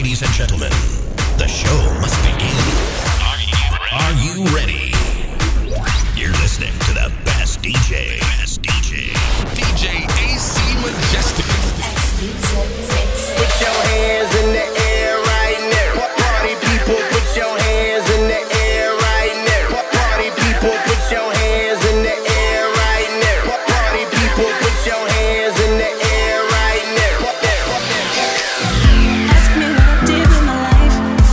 Ladies and gentlemen, the show must begin. Are you ready? You're listening to the best DJ. DJ AC Majestic. Put your hands in the air right now. Party people, put your hands in the air right now. Party people, put your hands in the air right now. Party people, put your hands in the air right now. Ask me what I did with my life.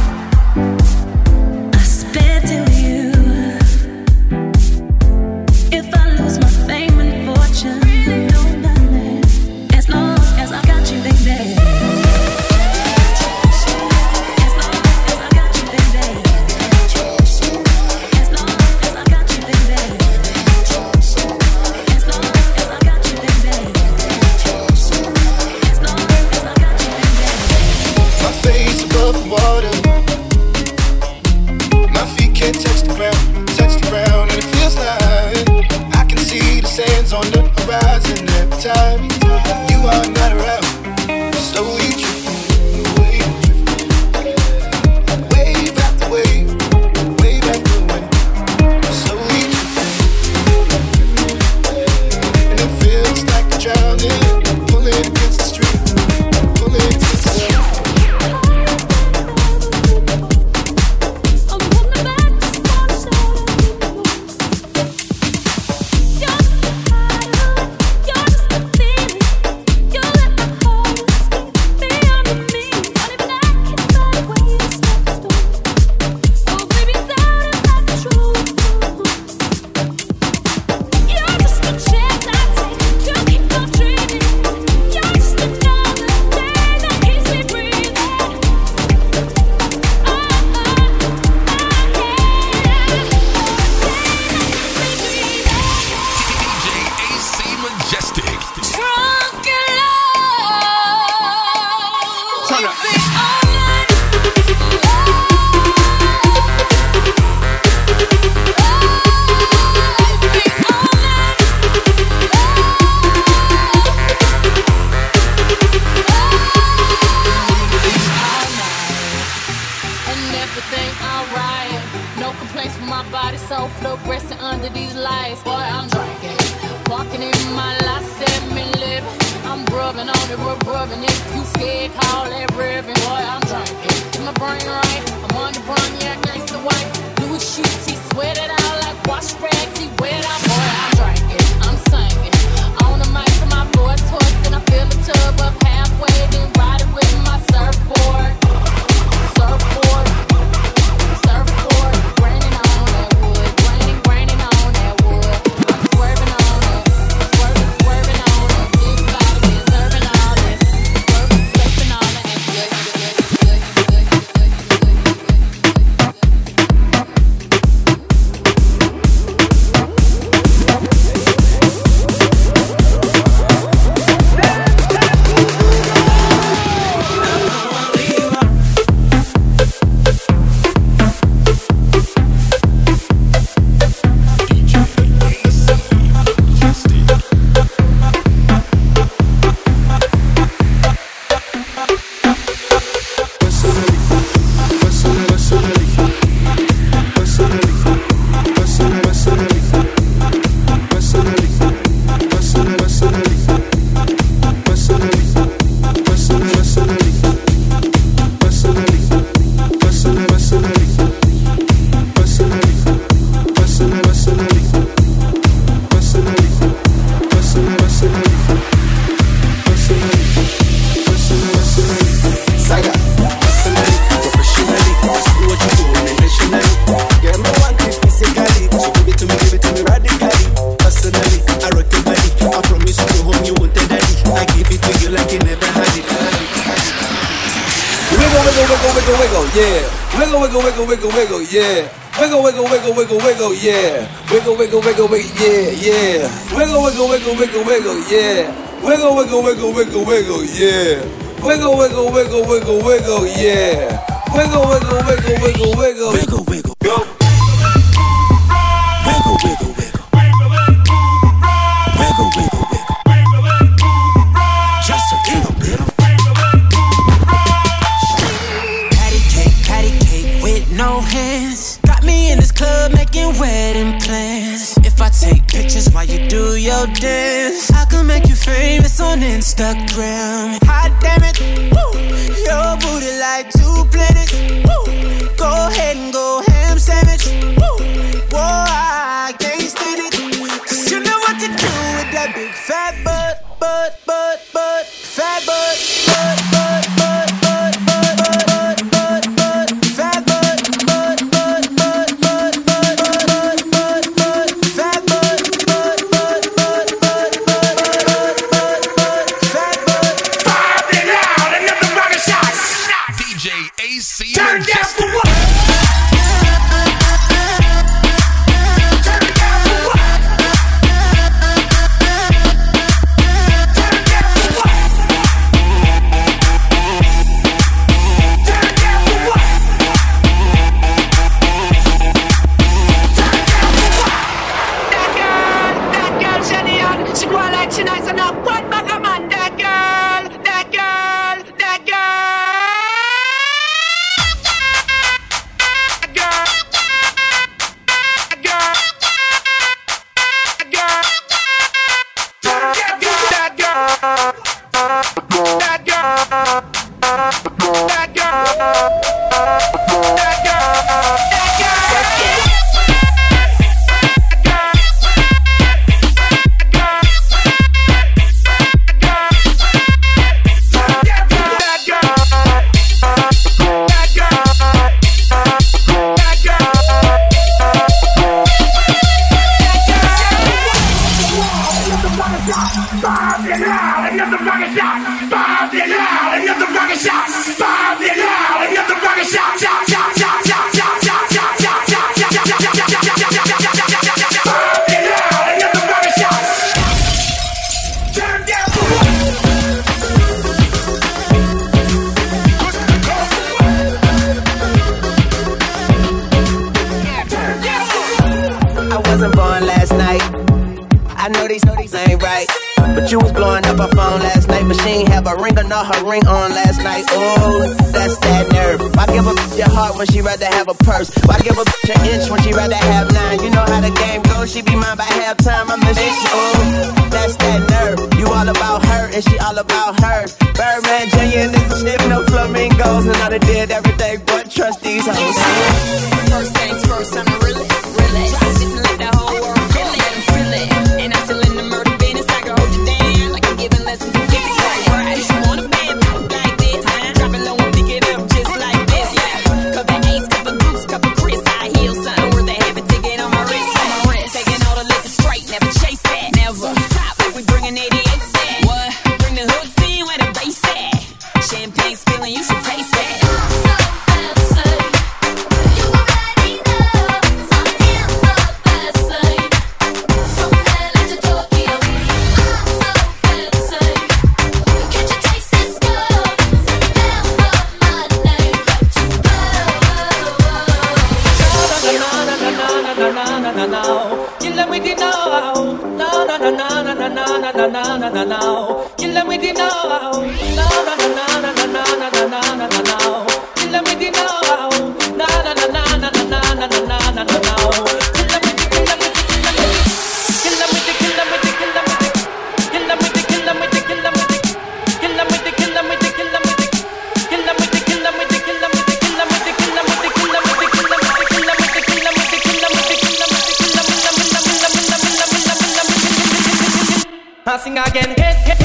I spent it with you. If I lose my fame and fortune, don't matter. As long as I got you, baby. On the horizon every time you are not around, slowly drifting away, wave after wave, wave after wave, slowly drifting, and it feels like I'm drowning, pulling against the street, pulling against the street. Yeah. Wiggle, wiggle, wiggle, wiggle, wiggle, yeah. Wiggle, wiggle, wiggle, wiggle, yeah, yeah. Wiggle, wiggle, wiggle, wiggle, wiggle, yeah. Wiggle, wiggle, wiggle, wiggle, wiggle, yeah. Wiggle, wiggle, wiggle, wiggle, wiggle, yeah. Wiggle, wiggle, wiggle, wiggle, wiggle. Wiggle, wiggle, go. Wiggle, wiggle, wiggle. Wiggle, wiggle, wiggle. Just a little bit. That's why you do your dance. I can make you famous on Instagram. Hot damn it, woo. Your booty like 2 planets. Woo. Go ahead and go ham sandwich. Woo. Whoa, I can't stand it. Cause you know what to do with that big fat butt, fat butt, fat butt, fat butt, fat butt, fat butt, Popping out another rocket shot. DJ AC Turn down for what? Her ring on last night, oh, that's that nerve. Why give a bitch your heart when she rather have a purse? Why give a bitch an inch when she rather have 9? You know how the game goes, she be mine by halftime. I miss you, oh, that's that nerve. You all about her and she all about hers. Birdman Jr. and this shit, no flamingos. And I done did everything but trust these hoes. First things first, I'm a realist. Just let the whole world feel it. And I'm still in the murder business. I can hold you down like I'm giving lessons in physics. I sing again.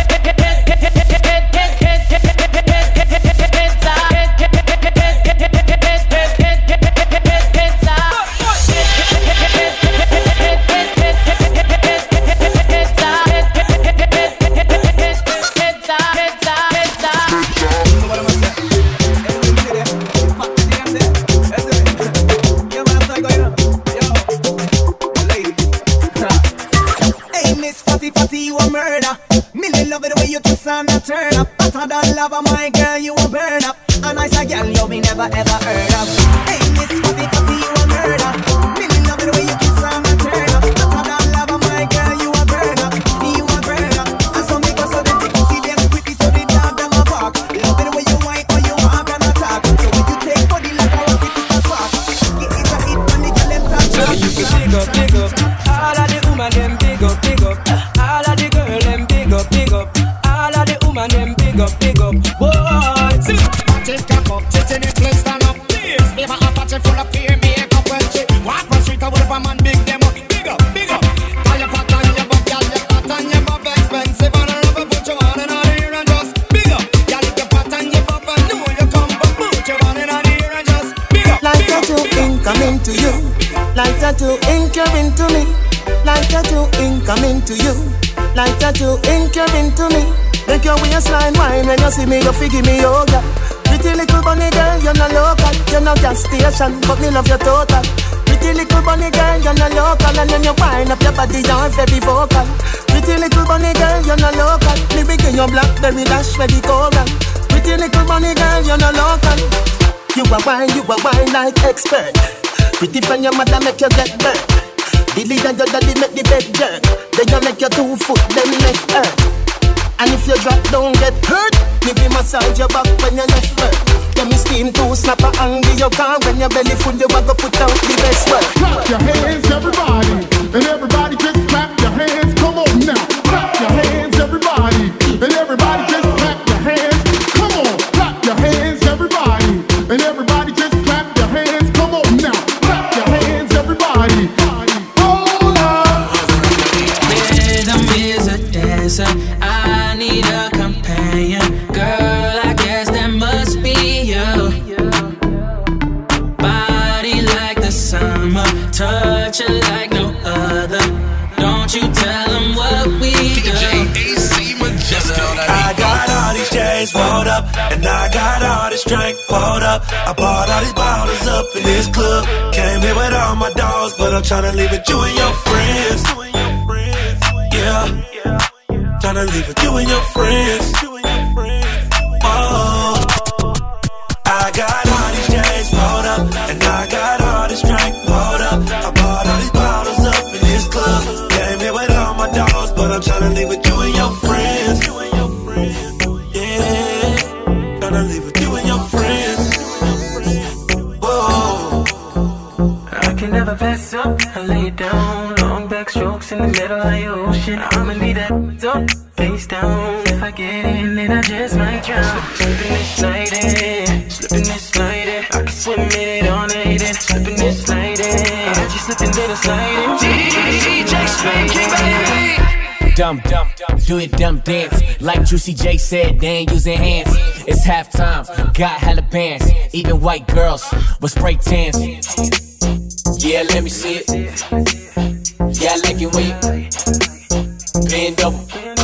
Turn up, hotter than lava, my girl, you a burn up. A nicer girl, you me never ever heard of. Hey, Miss Fatty Fatty, you a murder. Really love the way you kiss and turn up. Hotter than lava, my girl, you a burn up. You a burn up. And so me go so they take you them quickly so they dog them a bark. Love the way you whine or you walk and attack. So when you take body like a rocket, it a spark. Get it a hit when the girl them touch. So you can dig up, all of the woman them dig up. Party cock up, tits in it, please stand up. Never a party full of fear, makeup when she walk on street with a man big them up. Big up, big up. Call your pot on your butt, girl, your pot on your butt expensive. And I never put you on and on here and just big up. Girl, if your pot on your butt, I know you come, but put you on and on here and just big up. Like tattoo ink coming to you. Like tattoo ink you're into me. Like tattoo ink coming to you. Like tattoo ink you're into me. Make your waistline wine when you see me, you figure me yoga. Pretty little bunny girl, you're not local. You're not gas station, but me love your total. Pretty little bunny girl, you're not local. And when you wind up your body, you're very vocal. Pretty little bunny girl, you're not local. Me begin your blackberry dash for the coral. Pretty little bunny girl, you're not local. You a wine like expert. Pretty from your mother make you get burnt. Dilly and your daddy make the bed jerk. Then you make your 2 foot, then left earth. And if you drop, don't get hurt. Maybe massage your back when you left work. Then me steam to snap a angle your car. When your belly full, you a go put out the best work. Clap your hands, everybody. And everybody just clap your hands. Come on now. Clap your hands, everybody. And everybody just clap your hands. Come on. Clap your hands, everybody. And everybody just clap your hands. Come on now. Clap your hands, everybody. Hold up. Rhythm is a dancer. I need a companion. Girl, I guess that must be you. Body like the summer, touch it like no other. Don't you tell them what we do. DJ AC Majestic. I got all these chains rolled up, and I got all this drink poured up. I bought all these bottles up in this club. Came here with all my dogs, but I'm tryna leave with you and your friends. Yeah. Tryna leave with you and your friends. Oh, I got all these chains rolled up, and I got all this drink poured up. I bought all these bottles up in this club. Came here with all my dogs, but I'm tryna leave with you and your friends. Yeah, tryna leave with you and your friends. Whoa. I can never pass up, I lay it down. Long back strokes in the middle of your ocean. I'ma leave that up, face down. If I get in, then I just might drown. Slipping this slide in, slipping this slide in. I can swim in it all night and slipping this slide in. I just slip into the slide in. DJ Spanky, baby. Dumb, do it dumb dance. Like Juicy J said, they ain't using hands. It's halftime, got hella bands. Even white girls with spray tans. Yeah, let me see it. Yeah, I like it when you bend over.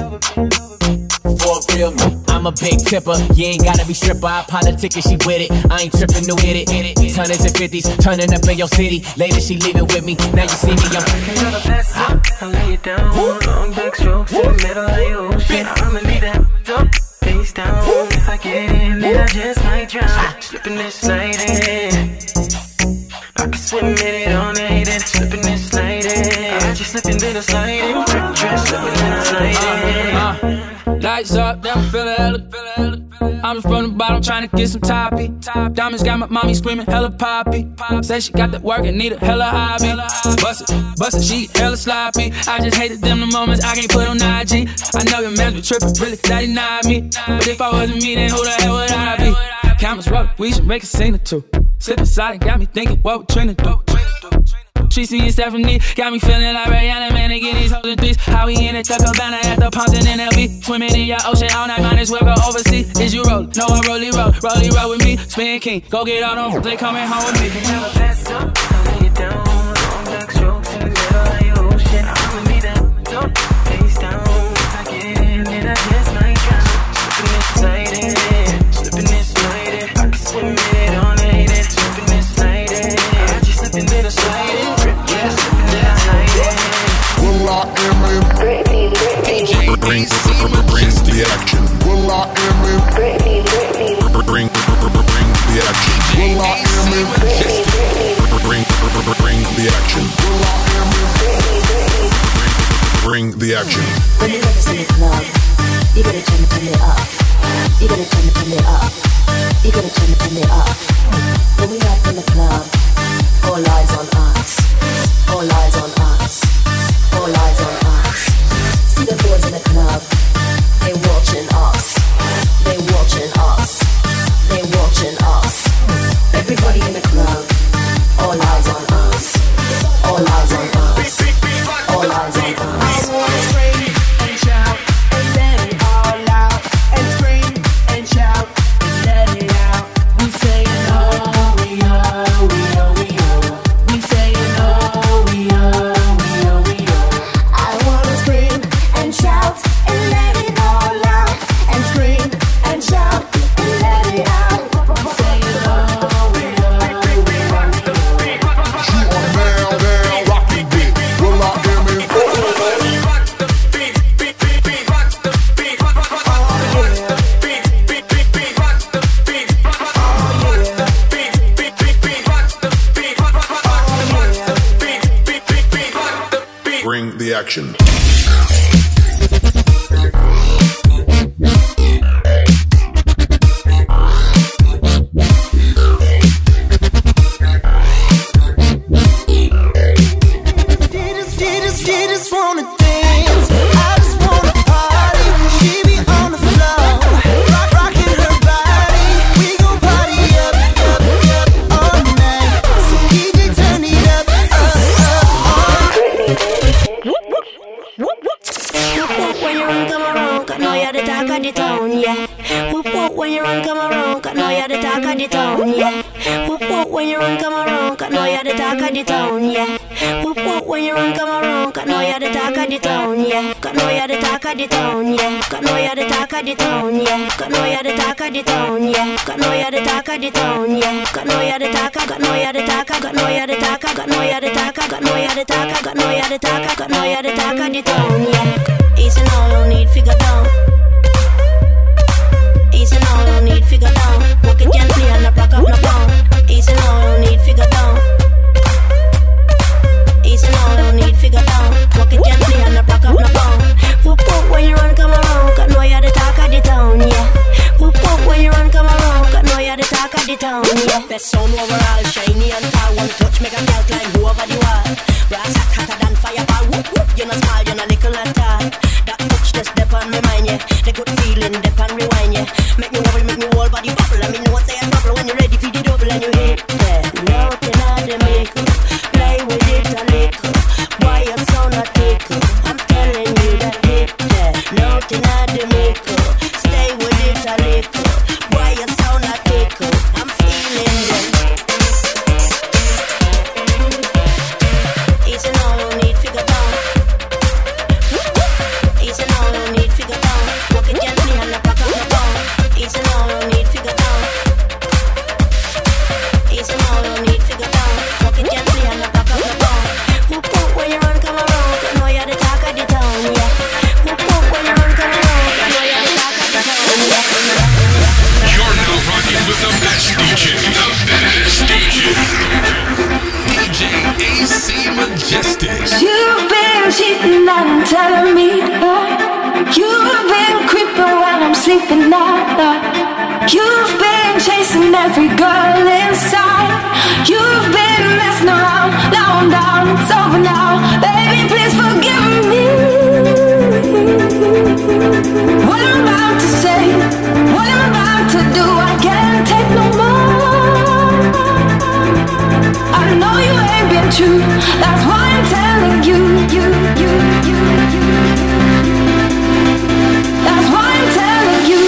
For real, I'm a big tipper. You ain't gotta be stripper. I politic and she with it. I ain't tripping, no hit it. Tonners and 50s, turning up in your city. Later she leaving with me. Now you see me, I'm Can't pass up, I lay it down. Long back strokes in the middle of your ocean. I'ma leave that up, face down. If I get in, then I just might drown. Slipping this slide in. I can swim in it all night and slipping this slide in. I just slipping in the slide in. Drip, slipping in the slide in. Lights up, then I'm feeling hella. I'm from the bottom trying to get some toppy. Diamonds got my mommy screaming hella poppy. Say she got that work and need a hella hobby. Bust it, she hella sloppy. I just hated them the moments I can't put on IG. I know your man be tripping, really that he not me. But if I wasn't me, then who the hell would I be? Cameras roll, we should make a scene or two. Slip aside and got me thinking what we trying to do. Tracy and Stephanie got me feeling like Rihanna, man, they get these hoes in threes. How we in it, Tucker Banner at the Ponce and NLB. Swimming in your ocean all night, minus we'll go overseas. Is you rollin'? No, I rolly roll with me. Spin King, go get all them, they coming home with me. Can never pass up, I lay it down. Long back strokes in the middle of your ocean. I'ma leave that up, face down. If I get in, then I just might drown. Slipping this slide in, slipping this slide in. I can swim in it all night and slipping this slide in. I just slip into the slide in. Bring the action. Bring the action. Bring the action. When you let us in the club, you gotta turn it up. You gotta turn it up. You gotta turn it up. When we up in the club, all eyes on us. All eyes on us. All eyes on us. See the boys in the club, they watching us. They watching us. satisfaction. Just wanna dance, I just wanna party. She be on the floor, rocking her body. We gon' party up all night. So DJ turn it up. Whoop when you run, come around, 'cause know you're the talk of the town, yeah. Whoop when you run, come around, 'cause know you're the talk of the town, yeah. Whoop when you run, come around, 'cause know you're the talk of the town, yeah. Whoop when you run, come around, 'cause know you're the talk of the town, yeah. 'Cause know you're the talk of the town, yeah. 'Cause know you're the talk of the town, yeah. 'Cause know you're the talk of the town, yeah. 'Cause know you're the talk of the town, yeah. 'Cause know you're the talk, 'cause know you're the talk, 'cause know you're the talk, 'cause know you're the talk, 'cause know you're the talk, 'cause know you're the talk, 'cause know you're the talk of the town, yeah. Easy now, don't need figure down. Easy now, don't need figure down. Walk it gently and not rock up no pound. Easy now, don't need figure down. Easy now, don't need figure down. Walk it gently and not rock up no pound. Whoop whoop when you run, come around, 'cause know you're the talk of the town, yeah. Whoop whoop when you run, come around, 'cause know you're the talk of the town, yeah. Best sound overall, shiny and tall. One touch make a girl climb over the wall. Brass hot, hotter than fireball. Whoop whoop, you're not small, you're not little at all. That touch just step on my mind, yeah. The good feeling, dip and rewind, yeah. Make me wobble, make me whole body bubble. I mean, no one say I bubble when you're ready for the double and you hit that. Nothing on the makeup, play with it a little. Why you so not tickle? I'm telling you that hit that. Nothing on the makeup, stay with it a little. Why you so not tickle? I'm feeling that. Easy now, don't need figure down. Easy now, don't need figure down. Walk it gently and not rock up no pound. Easy now, don't need figure down. Easy now, don't need figure down. Walk it gently and not rock up no pound. Whoop whoop when you run, come around, 'cause know you're the talk of the town, yeah. Whoop whoop when you run, come around, 'cause know you're the talk of the town, yeah. You're now rocking with the best DJ. The best DJ. DJ AC Majestic. You've been cheating and telling me you've been creeping when I'm sleeping now. You've been chasing every girl inside. You've been messing around. Now I'm down, it's over now. Baby, please forgive me. What I'm about to say, what I'm about to do, I can't take no more. I know you ain't been true. That's why I'm telling you. That's why I'm telling you.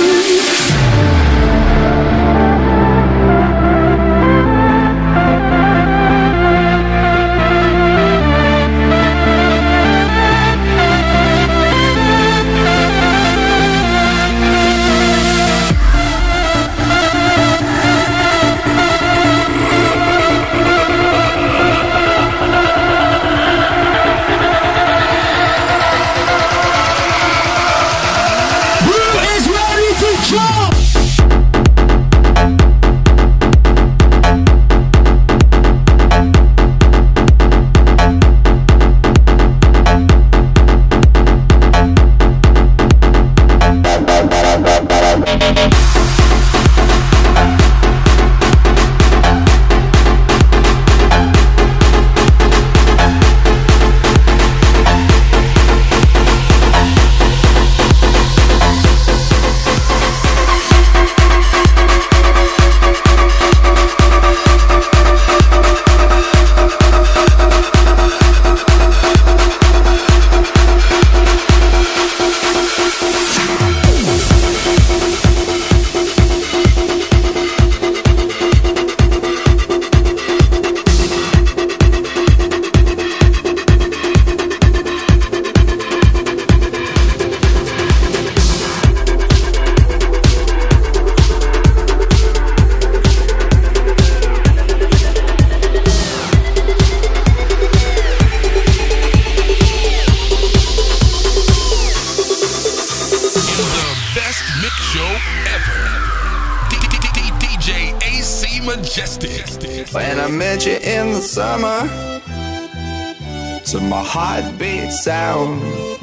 When I met you in the summer, to my heartbeat sound.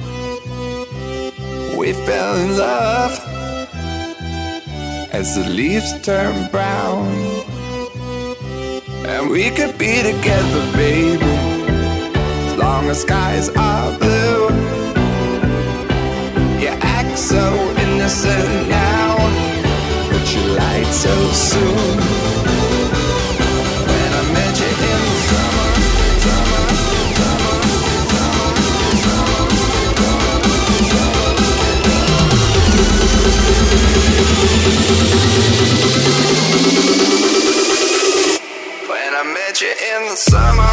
We fell in love as the leaves turn brown. And we could be together, baby, as long as skies are blue. You act so innocent now, but you lied so soon. When I met you in the summer, summer, summer, when I met you in the summer.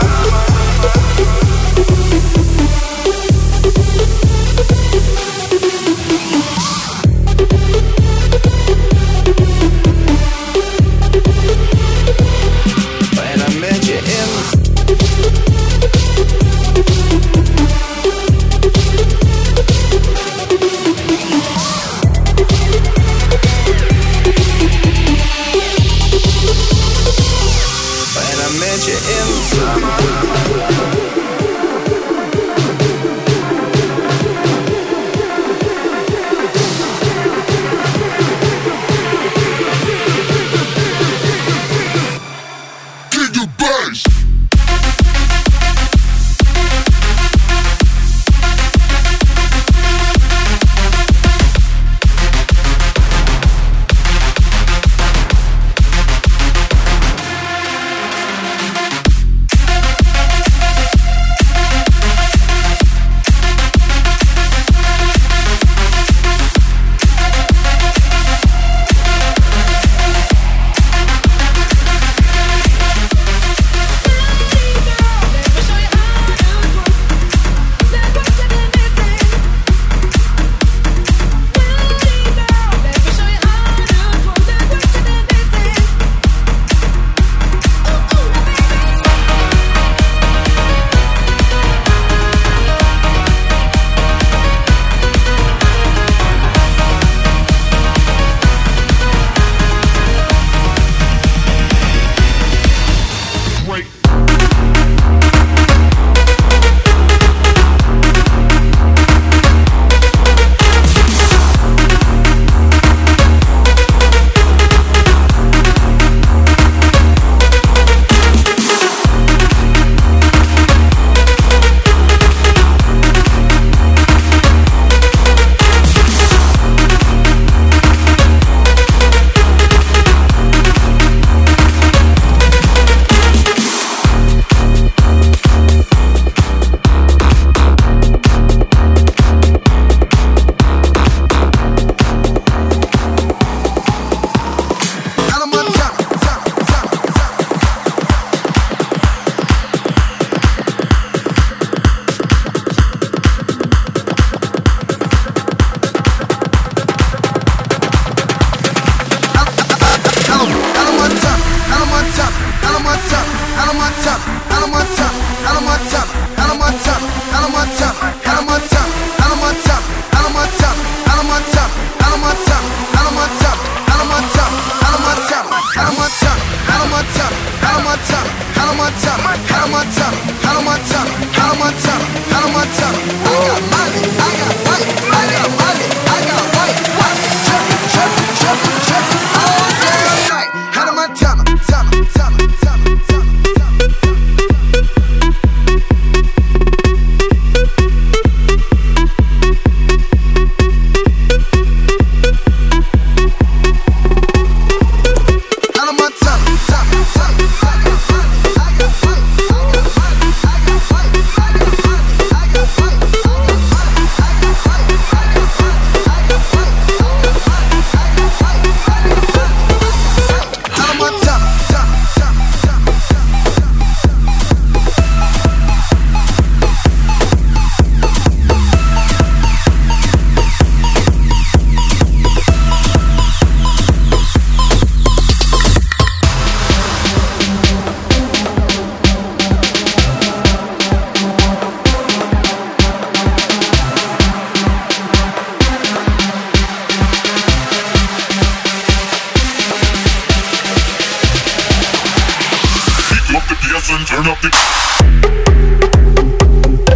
Turn up the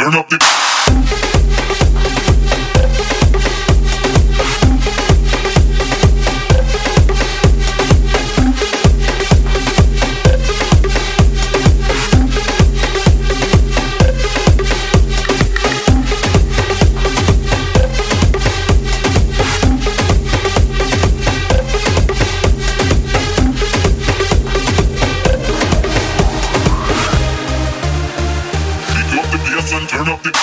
turn up the. Turn up the.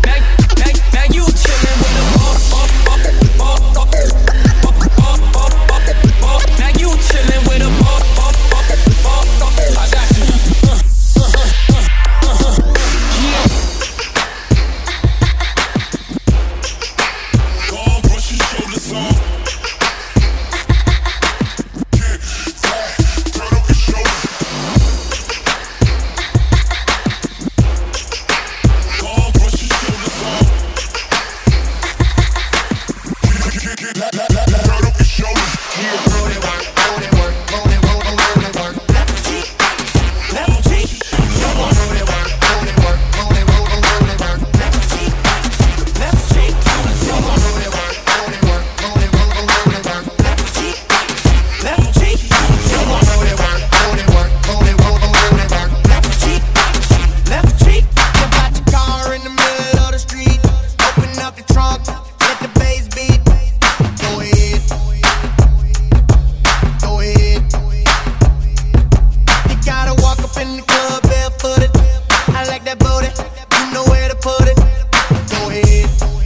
in the club barefooted. I like that booty, you know where to put it. Go ahead.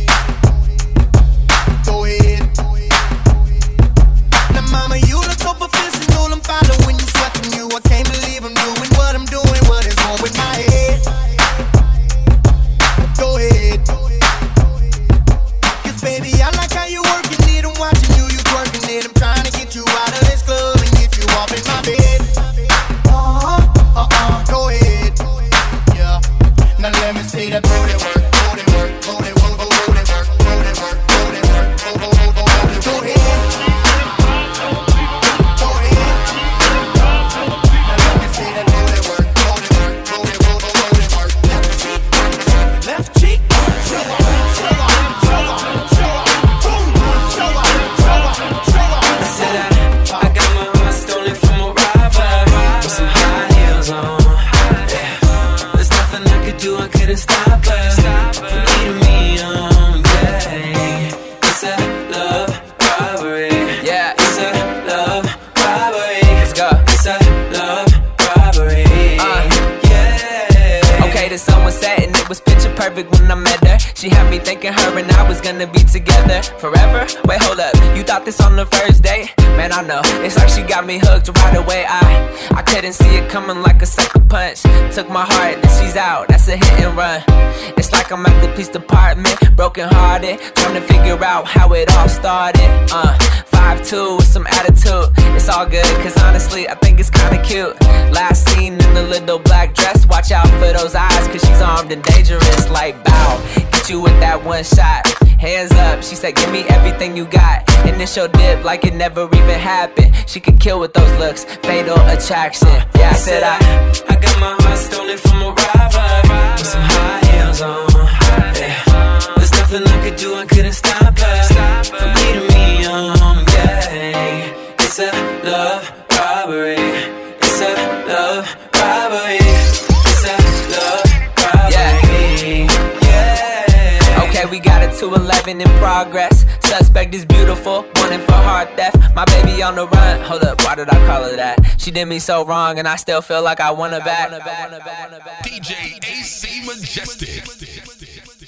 Go ahead. Now mama, you look so professional, I'm following you, sweating you. I can't believe I'm doing what I'm doing, what is wrong with my head? Go ahead. Cause baby, I like how you working it, I'm watching you twerking it. I'm trying to get you out of this club and get you off in my bed. Go ahead. Yeah. Now let me see that booty work, booty work, booty work, booty work, booty work, booty work, booty work, booty work. Go ahead. Go ahead. Now let me see that booty work, booty work, booty work, booty work. Left cheek, show up, show up, show up, show up, boom, show up, show up, show up. I said I got my heart stolen from a robber with some high heels on. Yeah. There's nothing I could do, I couldn't stop her from leading me on. Yeah. It's a love robbery. Yeah. It's a love robbery. Let's go. It's a love robbery. Yeah. Okay, the sun was setting, it was picture perfect when I met her. She had me thinking her and I was gonna be together forever. Wait, hold up, you thought this on the first date? Man, I know, it's like she got me hooked right away. I couldn't see it coming like a sucker punch. Took my heart, then she's out, that's a hit and run. It's like I'm at the police department, broken hearted, trying to figure out how it all started. 5'2" with some attitude, it's all good, cause honestly, I think it's kinda cute. Last seen in the little black dress, watch out for those eyes, cause she's armed and dangerous. Like bow, get you with that one shot. Hands up, she said, give me everything you got. Initial dip like it never even happened. She could kill with those looks, fatal attraction. Yeah, I said I got my heart stolen from a robber with some high heels on. Yeah. There's nothing I could do, I couldn't stop her from leading me on. Yeah. It's a love robbery. It's a love robbery. It's a love robbery. Yeah. Okay, we got a 211 in progress. Suspect is beautiful, wanted for heart theft. My baby on the run. Hold up, why did I call her that? She did me so wrong, and I still feel like I want her back. DJ AC Majestic.